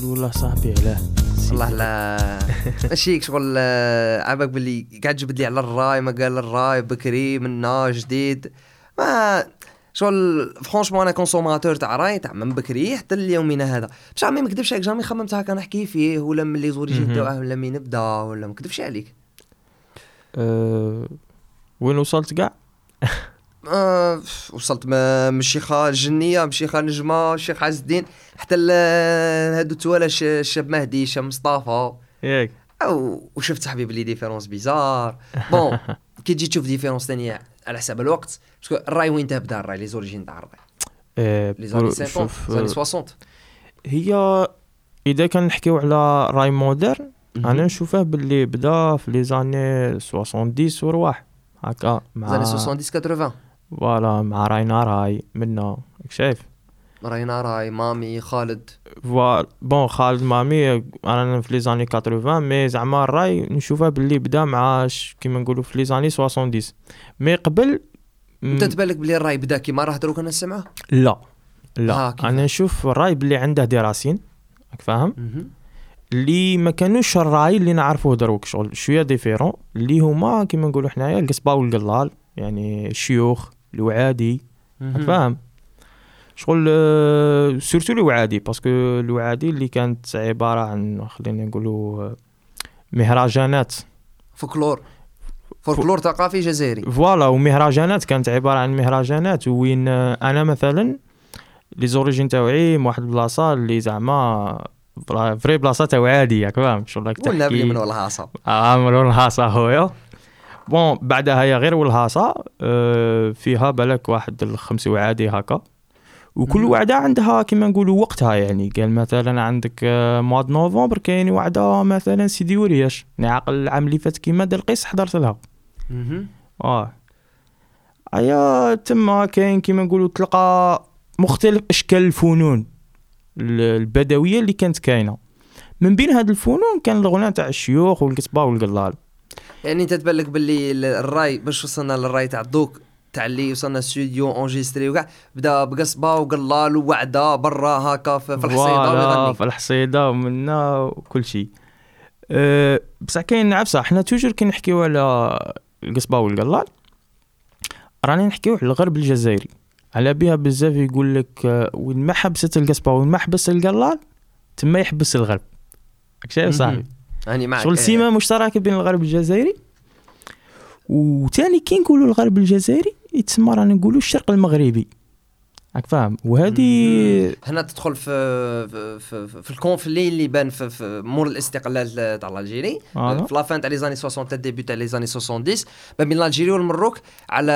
والله صاحبي علاه والله لا ماشي شغل عباك باللي قاعد جبد لي على الراي، ما قال الراي بكري منا جديد ما شغل فرانشمون انا كونسوماتور تاع راي تاع من بكري حتى اليومنا هذا. باش عمي ما نكذبش عليك، جامي خممت هكا نحكي فيه ولا من لي زوريجين تاعه ولا مين نبدا ولا ما نكذبش عليك. وين وصلت كاع؟ وصلت من الشيخة الجنية، من الشيخة نجمة، الشيخ عز الدين، حتى هادو توالا الشاب مهدي، الشاب مصطفى ياك. وشفت صاحبي بلي ديفيرونس بيزار. بون كي تجي تشوف ديفيرونس ثانيه على حساب الوقت، باسكو الراي وين تبدا الراي لي زوريجين تاع الراي لي زاني 50 زاني 60. هي اذا كان نحكيو على راي مودرن انا نشوفه باللي بدا في لي زاني 70 ورواح هكا مع زاني 70 80 فوالا مع راينا راي منا شايف راينا راي مامي خالد بون خالد مامي انا في لي زاني 80 مي زعما الراي نشوفها باللي بدا مع كيما نقولوا في لي زاني 70 مي قبل. انت تبالك بلي الراي بدا كيما راه دروك انا نسمعه؟ لا انا نشوف الراي باللي عنده دراسين راك فاهم اللي ما كانوش الراي اللي نعرفوه دروك، شغل شويه ديفيرون اللي هما كيما نقولوا حنايا القصبه والقلال، يعني الشيوخ الوعادي فاهم شغل سورتو الوعادي، باسكو الوعادي اللي كانت عباره عن خلينا نقولوا مهرجانات فولكلور ثقافي جزائري فوالا، ومهرجانات كانت عباره عن مهرجانات وين انا مثلا لي زوريجين تاوعي واحد البلاصه اللي زعما فري بلاصه تاع عادي ياك فاهم شغل راك تحكي ولا من والهاصه من والهاصه هويا. بون بعدها هي غير والهاصه فيها بالك واحد 5 وعادي هكا، وكل وعده عندها كيما نقولوا وقتها، يعني قال مثلا عندك مواد نوفمبر كاين وعده مثلا سيدي ورياش نعقل العام اللي فات كيما دار القيس حضرت لها ايا تما كاين كيما نقولوا تلقى مختلف اشكال الفنون البدويه اللي كانت كاينه. من بين هاد الفنون كان الغناء تاع الشيوخ والقصبه والقلال. يعني انت تبلك باللي الراي باش وصلنا للراي تاع دوك تاع اللي وصلنا استوديو اونجستري وكاع بدا بقصبه وقلال ووعده برا هكا في الحصيده ويغني في الحصيده ومنا وكل شيء. بصح كاين عفسه حنا توجور كي نحكيو على القصبه والقلال راني نحكيو على الغرب الجزائري، على بها بزاف يقول لك وين ما حبست القصبه وين ما حبس القلال تما يحبس الغرب. شايف صاحبي يعني معك شغل سيما مشتركه بين الغرب الجزائري وثاني كي نقولوا الغرب الجزائري يتسمى رانا نقولوا الشرق المغربي راك فاهم. وهذه هنا تدخل في الكونفلي اللي بان في مور الاستقلال تاع الجيري في لافان تاع لي زاني 60 ديبي تاع لي زاني 70 ما بين الجيري والمروك على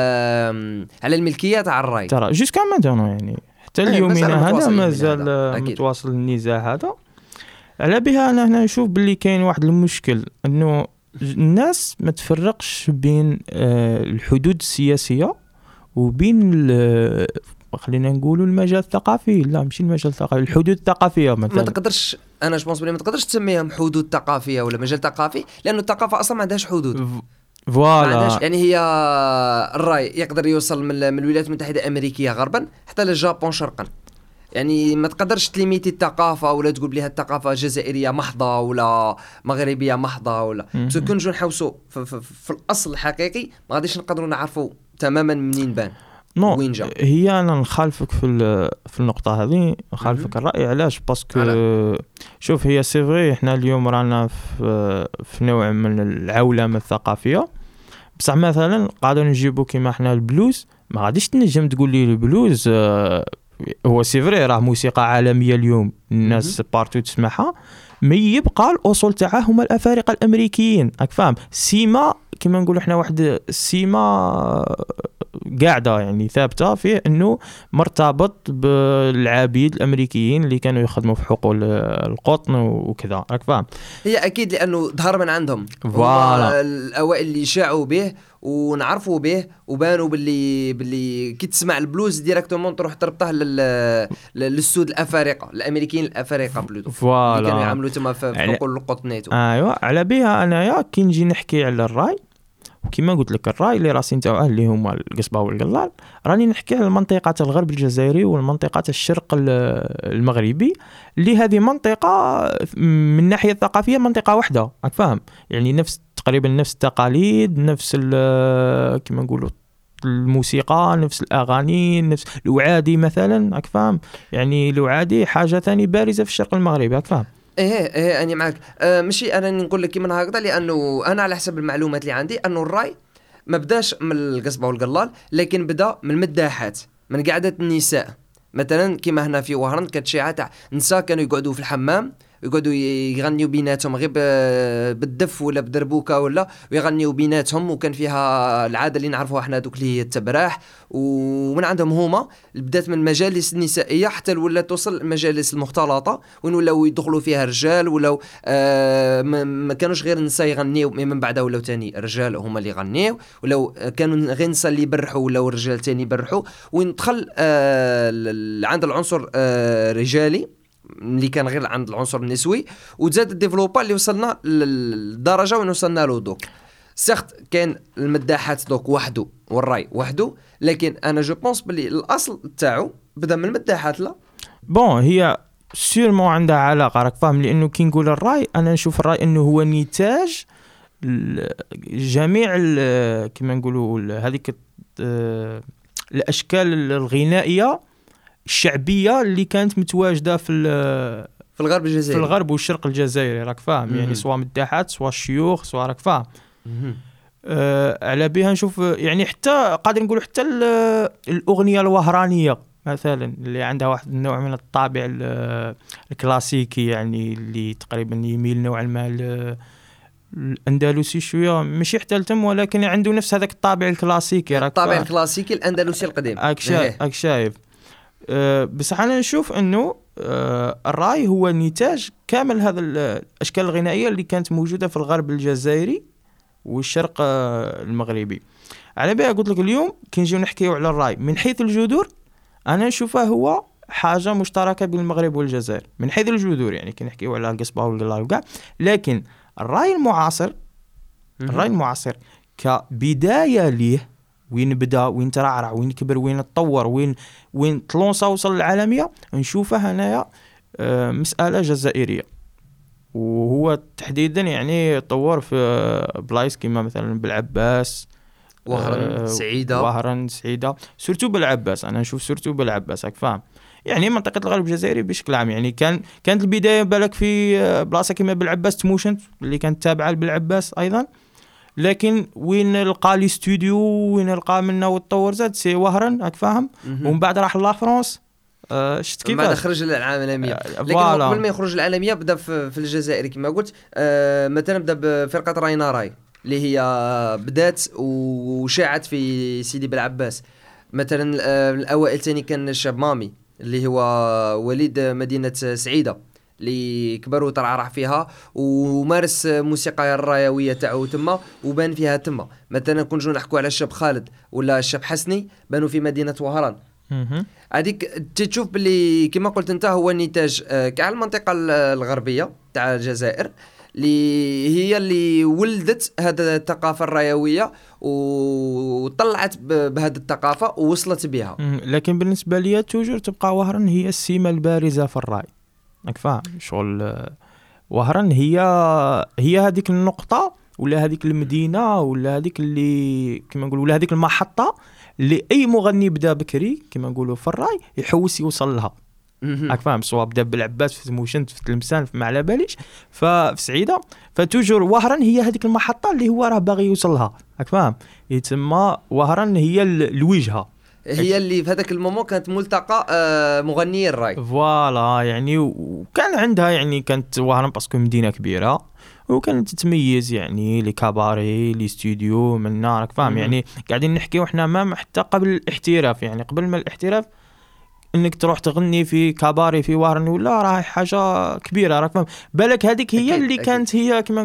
الملكيه تاع الراي ترى جوسكا ماتونو، يعني حتى اليومنا هذا مازال متواصل النزاع هذا. على بها انا هنا نشوف باللي كاين واحد المشكل انه الناس ما تفرقش بين الحدود السياسيه وبين خلينا نقولوا المجال الثقافي. لا ماشي المجال الثقافي، الحدود الثقافيه مثلا ما تقدرش انا جوبونس بلي ما تقدرش تسميهم حدود ثقافيه ولا مجال ثقافي، لانه الثقافه اصلا ما عندهاش حدود فوالا. يعني هي الراي يقدر يوصل من الولايات المتحده الامريكيه غربا حتى للجابون شرقا، يعني ما تقدرش تليميتي الثقافه ولا تقول بليها الثقافه جزائريه محضه ولا مغربيه محضه ولا كون نجو نحوسوا في الاصل الحقيقي ما غاديش نقدروا نعرفوا تماما منين بان وين جا. هي انا نخالفك في النقطه هذه، نخالفك الراي. علاش؟ باسكو شوف هي سي فري احنا اليوم رانا في نوع من العولمه الثقافيه، بصح مثلا قاعدين نجيبوا كيما احنا البلوز، ما غاديش تنجم تقول لي البلوز هو سي فري راه موسيقى عالميه اليوم الناس بارتو تسمعها، مي يبقى الاصول تاعها هما الافارقه الامريكيين راك فاهم. سيما كما نقولوا احنا واحد السيما قاعده يعني ثابته فيه انه مرتبط بالعبيد الامريكيين اللي كانوا يخدموا في حقول القطن وكذا راك فاهم. هي اكيد لانه ظهر من عندهم الاوائل اللي شاعوا به ونعرفوا به وبانوا باللي كي تسمع البلوز ديريكتومون تروح تربطه للسود الافارقه الامريكيين الافارقه بلوتو اللي كانوا يعملوا تما في حقول القطنيتو. ايوا على بها انايا كي نجي نحكي على الراي وكما قلت لك الراي اللي راسي نتاعو اللي هما القصبه والقلال، راني نحكي على المنطقه الغرب الجزائري والمنطقه الشرق المغربي، اللي هذه منطقه من الناحيه الثقافيه منطقه واحده، راك فاهم؟ يعني نفس تقريبا نفس التقاليد، نفس كما نقولوا الموسيقى، نفس الاغاني، نفس الوعادي مثلا، راك فاهم؟ يعني الوعادي حاجه ثاني بارزه في الشرق المغربي، راك فاهم؟ ايه انا معك. ماشي انا نقول لك كيما هكذا، لانه انا على حسب المعلومات اللي عندي انه الراي ما بداش من القصبه والقلال، لكن بدا من المداحات، من قعده النساء. مثلا كيما هنا في وهران كانت شيعه تاع نساء كانوا يقعدوا في الحمام، يقعدوا يغنيوا بيناتهم غير بالدف ولا بدربوكه ولا، ويغنيوا بيناتهم. وكان فيها العاده اللي نعرفوها احنا دوك اللي هي التبراح. ومن عندهم هما بدات من المجالس النسائيه حتى ولات توصل المجالس المختلطه، وين ولاو يدخلوا فيها رجال، ولاو ما كانوش غير النساء يغنيوا، من بعدها ولاو تاني الرجال هما اللي يغنيوا، ولو كانوا غير النساء اللي يبرحوا ولاو الرجال تاني يبرحوا. وين دخل عند العنصر رجالي اللي كان غير عند العنصر النسوي، وتزاد الديفلوبا اللي وصلنا للدرجه وين وصلنا له دوك. سخت كان المداحات دوك وحده والراي وحده، لكن انا جو بونس بلي الاصل تاعو بدا من المداحات. لا بون هي سيرمون عندها علاقه، راك فاهم؟ لانه كي نقول الراي انا نشوف الراي انه هو نتاج جميع كما نقولوا هذيك الاشكال الغنائيه الشعبيه اللي كانت متواجده في الغرب الجزائري، في الغرب والشرق الجزائري، راك فاهم؟ يعني سواء مداحات سواء الشيوخ سواء، راك فاهم؟ على بها نشوف يعني حتى قادر نقول حتى الاغنيه الوهرانيه مثلا اللي عندها واحد النوع من الطابع الكلاسيكي، يعني اللي تقريبا يميل نوعا ما الاندلسي شويه، ماشي حتى التم، ولكن عنده نفس هذاك الطابع الكلاسيكي، راك الطابع الكلاسيكي الاندلسي القديم. اك شايف. بس انا نشوف انه الراي هو نتاج كامل هذا الاشكال الغنائيه اللي كانت موجوده في الغرب الجزائري والشرق المغربي. على بالي قلت لك اليوم كي نجيو نحكيو على الراي من حيث الجذور، انا نشوفه هو حاجه مشتركه بين المغرب والجزائر من حيث الجذور، يعني كي نحكيو على القصبه والقلال وكاع. لكن الراي المعاصر كبدايه ليه، وين بدا، وين ترعرع، وين كبر، وين تطور، وين تلونسا وصل للعالميه، نشوفها هنايا مساله جزائريه. وهو تحديدا يعني طور في بلايص كيما مثلا بالعباس، وهران سعيده سورتو بالعباس. انا نشوف سورتو بالعباس، راك فاهم؟ يعني منطقه الغرب الجزائري بشكل عام، يعني كانت البدايه بالك في بلاصه كيما بالعباس تموشنت اللي كانت تابعه بالعباس ايضا، لكن وين لقى لي استوديو، وين لقى منه وتطور زاد سي وهران، راك فاهم؟ ومن بعد راح لا فرنسا، شفت كيف بعد خرج للعالمية. لكن قبل ما يخرج للعالمية بدا في الجزائر كما قلت. مثلا بدا بفرقة راينا راي اللي هي بدات وشاعت في سيدي بالعباس. مثلا الاوائل تاني كان الشاب مامي اللي هو وليد مدينة سعيدة، اللي كبر وترعرع فيها ومارس موسيقى الرايويه تاعو تما وبان فيها تما. مثلا كون نجو نحكوا على الشاب خالد ولا الشاب حسني، بانوا في مدينه وهران. هذيك تشوف باللي كما قلت انت هو نتاج كاع المنطقه الغربيه تاع الجزائر، اللي هي اللي ولدت هذا الثقافه الرايويه وطلعت بهذه الثقافه ووصلت بها. لكن بالنسبه لي توجور تبقى وهران هي السمه البارزه في الراي، راك فاهم؟ شغل وهران هي هذيك النقطه ولا هذيك المدينه ولا هذيك اللي كما نقولوا ولا هذيك المحطه اللي اي مغني بدا بكري كما نقولوا في الراي يحوس يوصل لها، راك فاهم؟ سواء بدا بالعباس في تموشنت في تلمسان في معلاباليش ففي سعيده، فتوجور وهران هي هذيك المحطه اللي هو راه باغي يوصل لها، راك فاهم؟ يتسمى وهران هي الوجهه، هي اللي في هذاك المومون كانت ملتقى مغنيي الراي. فوالا يعني وكان عندها يعني كانت وهران باسكو مدينه كبيره وكانت تتميز يعني لي كاباري لي استوديو منا، راك فاهم؟ يعني قاعدين نحكيو احنا ما حتى قبل الاحتراف، يعني قبل ما الاحتراف انك تروح تغني في كاباري في وهران ولا راه حاجه كبيره، راك فاهم؟ بالك هذيك هي اللي كانت هي كما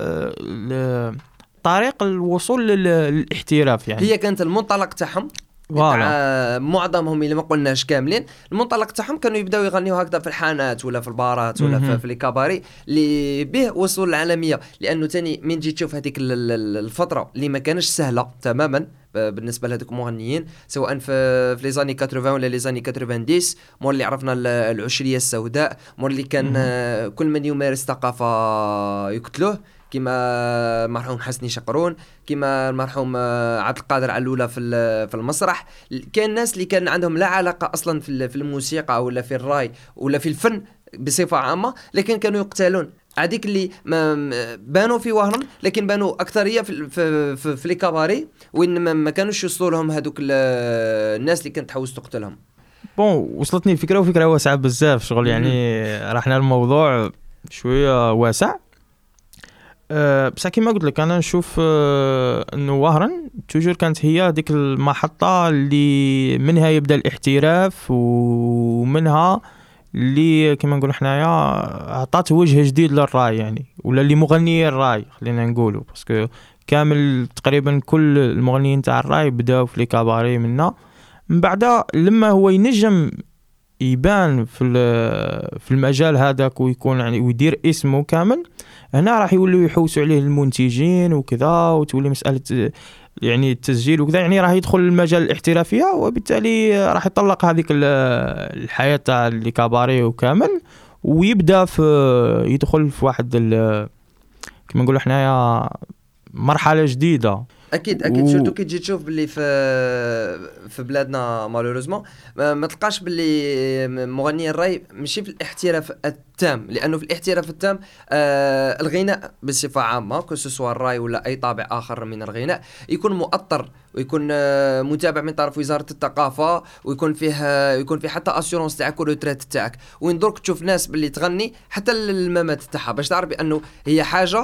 نقولوا طريق الوصول للاحتراف، يعني هي كانت المنطلق تاعهم تاع معظمهم اللي ما قلناش كاملين المنطلق تاعهم كانوا يبداو يغنيو هكذا في الحانات ولا في البارات ولا في لي كاباري اللي به وصلوا للعالميه. لانه تاني من جيت تشوف هذيك الفتره اللي ما كانش سهله تماما بالنسبه لهذوك المغنيين، سواء في لي زاني 80 ولا لي زاني 90، مور اللي عرفنا العشريه السوداء، مور اللي كان كل من يمارس ثقافه يقتلوه، كما المرحوم حسني شقرون، كما المرحوم عبد القادر علولة في المسرح. كان الناس اللي كان عندهم لا علاقة أصلا في الموسيقى ولا في الراي ولا في الفن بصفة عامة، لكن كانوا يقتلون. هذيك اللي بانوا في وهران لكن بانوا أكثرية في لي كاباري وين ما كانوش يوصلوا لهم هذوك الناس اللي كانت تحوس تقتلهم. بون وصلتني الفكرة، وفكرة واسعة بزاف شغل يعني رحنا الموضوع شوية واسع. بس كما قلت لك انا نشوف انه وهران توجور كانت هي ديك المحطه اللي منها يبدا الاحتراف، ومنها اللي كما نقول حنايا عطات وجه جديد للراي يعني، ولا اللي مغنيين الراي خلينا نقولوا، باسكو كامل تقريبا كل المغنيين تاع الراي بداوا في لي كاباري منا. من بعد لما هو ينجم يبان في المجال هذاك ويكون يعني ويدير اسمه كامل، هنا راح يولوا يحوسوا عليه المنتجين وكذا، وتولي مسألة يعني التسجيل وكذا، يعني راح يدخل المجال الاحترافية، وبالتالي راح يطلق هذيك الحياة تاع الكاباري وكامل، ويبدأ يدخل في واحد كما نقول حنايا مرحلة جديدة. اكيد شرطو كي تجي تشوف باللي في بلادنا مالوريزمون ما تلقاش باللي مغني الراي ماشي في الاحتراف التام، لانه في الاحتراف التام الغناء بصفه عامه كسوسوا الراي ولا اي طابع اخر من الغناء يكون مؤطر ويكون متابع من طرف وزاره الثقافه، ويكون فيه حتى اسيورونس تاعك والروتريت تاعك، وين درك تشوف ناس باللي تغني حتى الممات تاعها باش تعرف بانه هي حاجه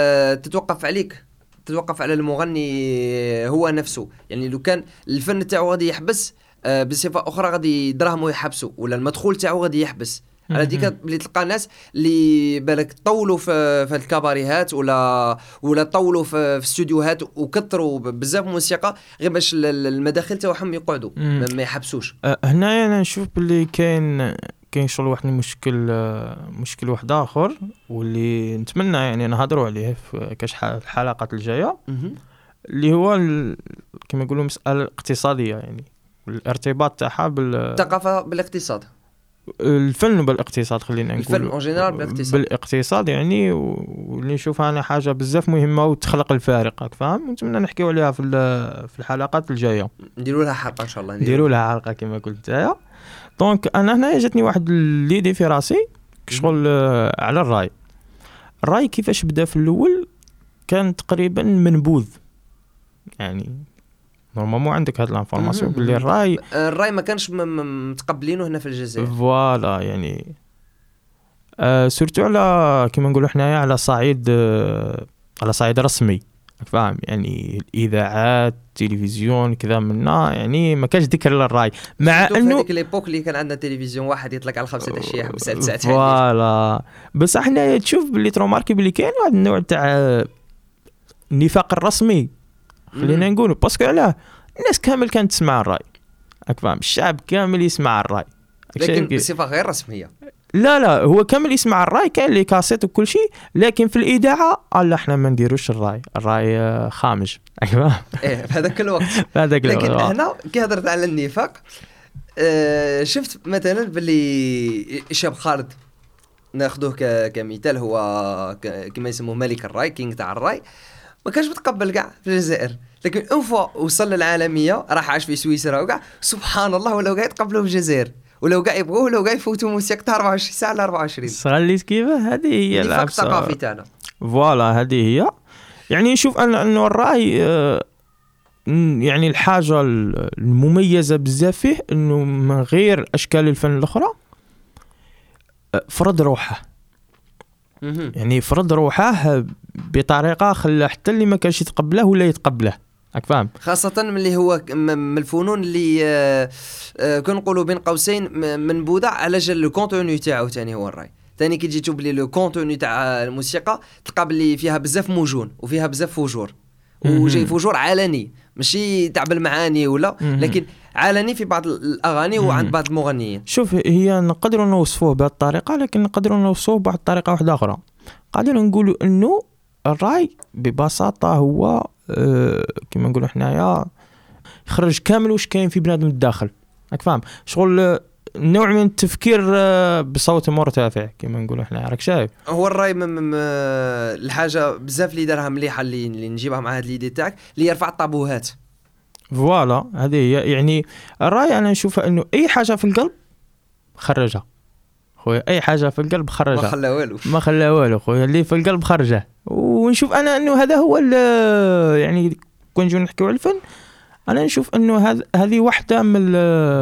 تتوقف على المغني هو نفسه. يعني لو كان الفن تاعو غادي يحبس بصفه اخرى غادي دراهمو يحبسوا، ولا المدخول تاعو غادي يحبس. على ديك اللي تلقى ناس اللي بالك طولوا في الكباريهات ولا طولوا في استوديوهات وكثروا بزاف موسيقى غير باش المداخل تاعهم يقعدوا ما يحبسوش. هنا انا نشوف باللي كاين شغل واحد مشكل واحد اخر، واللي نتمنى يعني نهضروا عليه في كاش الحلقات الجايه، اللي هو كما يقولوا مساله اقتصاديه، يعني الارتباط تاعها بالثقافه بالاقتصاد، الفن بالاقتصاد، خلينا نقول الفن اون جينيرال بالاقتصاد يعني، واللي نشوفها انا حاجه بزاف مهمه وتخلق الفارق، راك فاهم. ونتمنى نحكيو عليها في الحلقات الجايه، نديروا لها حلقه ان شاء الله، نديروا لها حلقه كما قلت يا. دونك انا هنا جاتني واحد ليدي في راسي شغل على الراي كيفاش بدا في الاول. كان تقريبا منبوذ، يعني نورمالمون عندك هاد الانفورماسيون باللي الراي ما كانش متقبلينه هنا في الجزائر، فوالا يعني سورتو على كما نقولوا حنايا على صعيد رسمي، فاهم يعني الاذاعات التلفزيون كذا منا، يعني ما كانش ذكر للراي، مع انه هذيك ليبوك اللي كان عندنا تلفزيون واحد يطلق على 5 العشيه ب6 ساعات. فوالا بس احنا تشوف باللي تروماركي باللي كاين واحد النوع تاع النفاق الرسمي خلينا نقولوا، باسكو علاه الناس كامل كانت تسمع الراي، فاهم، الشعب كامل يسمع الراي، لكن بصفه غير رسميه. لا هو كامل يسمع الراي، كان لي كاسيت وكل شيء، لكن في الاذاعه الله احنا ما نديروش الراي خامج، فاهم ايه في هذاك الوقت لكن هنا كي هضرت على النفاق شفت مثلا باللي شاب خالد ناخذوه كمثال، هو كما يسموه ملك الراي، كينغ تاع الراي، ما كانش متقبل كاع في الجزائر، لكن اون فوا وصل للعالميه راح عاش في سويسرا وكاع سبحان الله ولاو كاع يتقبلوا في الجزائر، ولو كاع يبغوه ولو كاع يفوتوا موسيقى 24 ساعه ل 24. صغليت كيفاه هذه هي النفاق الثقافي تاعنا. فوالا هذه هي، يعني نشوف انه الراي يعني الحاجه المميزه بزاف فيه انه من غير اشكال الفن الاخرى فرض روحه، يعني فرض روحه بطريقه خلى حتى اللي ما كانش يتقبله ولا يتقبله، فاهم، خاصه من اللي هو من الفنون اللي كنقولوا بين قوسين منبوذه على جال الكونتوني تاعو. ثاني هو الراي ثاني كي تجي تشوف لي لو كونتوني تاع الموسيقى تلقى بلي فيها بزاف موجون وفيها بزاف فجور، وجاي فجور علني ماشي تاع بالمعاني ولا لكن علني في بعض الاغاني وعند بعض المغنيين. شوف هي نقدروا نوصفوه بهذه الطريقه لكن نقدروا نوصفوه بواحد الطريقه واحده اخرى. قادرين نقولوا انه الراي ببساطه هو كما نقولوا حنايا يخرج كامل واش كاين في بنادم الداخل. راك فاهم شغل نوع من التفكير بصوت مرتفع كما نقولوا حنا. راك شايف هو الراي الحاجه بزاف اللي دارها مليحه اللي نجيبها مع هاد ليدي تاعك اللي يرفع الطابوهات. فوالا هذه هي يعني الراي. انا نشوفها انه اي حاجه في القلب خرجها خويا. اي حاجه في القلب خرجها ما خلى والو خويا. اللي في القلب خرجه. ونشوف انا انه هذا هو يعني كون نجيو نحكيو على الفن انا نشوف انه هذه واحده من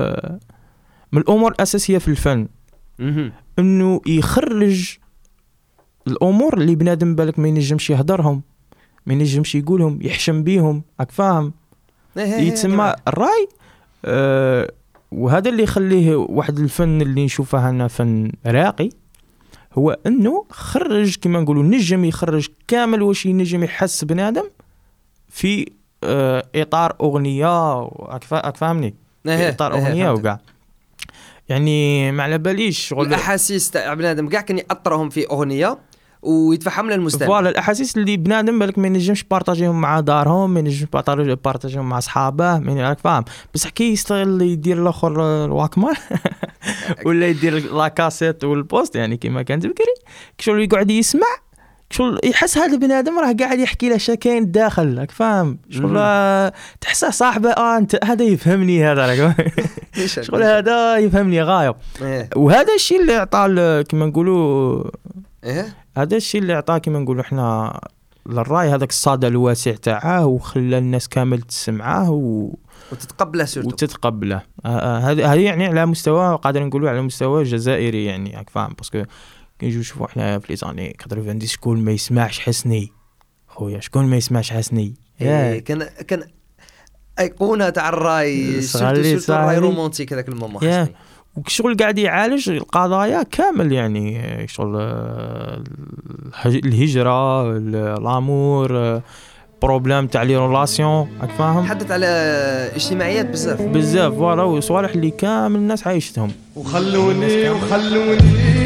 الامور الاساسيه في الفن. انه يخرج الامور اللي بنادم بالك ما ينجمش يهضرهم ما ينجمش يقولهم يحشم بيهم. راك فاهم يتسمى الراي. وهذا اللي يخليه واحد الفن اللي نشوفه انا فن راقي هو انه خرج كما نقولوا نجم يخرج كامل واش ينجم يحس بنادم في اطار اغنيه. راك فاهمني في اطار اغنيه وكاع يعني ما على باليش شغل الاحاسيس تاع بنادم كاع كان ياثرهم في اغنيه ويتفهم للمستمع. فوالا الاحاسيس اللي بنادم بالك ما ينجمش بارطاجيهم مع دارهم ما ينجمش بارطاجيهم مع اصحابه راك فاهم. بس كي يستغل يدير الاخر الواكمان ولا يدير لا كاسيت والبوست يعني كما كانت بكري كشغل يقعد يسمع شغل يحس هذا البنادم راه قاعد يحكي له شكاين الداخل. راك فاهم شغل تحسه صاحبه انت هذا يفهمني هذا راك شغل هذا يفهمني غايب. وهذا الشيء اللي عطى كما نقولوا هذا الشيء اللي عطاه كما نقولوا احنا للراي هذاك الصدى الواسع تاعه وخلى الناس كامل تسمعه وتتقبله سورتو وتتقبله. هذه يعني على مستوى قادر نقولوا على مستوى جزائري يعني راك فاهم. باسكو كي نجيو نشوفوا احنا في لي زاني 90 شكون ما يسمعش حسني خويا شكون ما يسمعش حسني. كان ايقونه تاع الراي سورتو الراي رومانتيك هذاك المومون حسني. وشغل قاعد يعالج القضايا كامل يعني شغل الهجره الامور بروبليم تاع لي ريلاسيون راك فاهم. حدث على اجتماعيات بزاف فوالا وصوالح اللي كامل الناس عايشتهم. وخلوني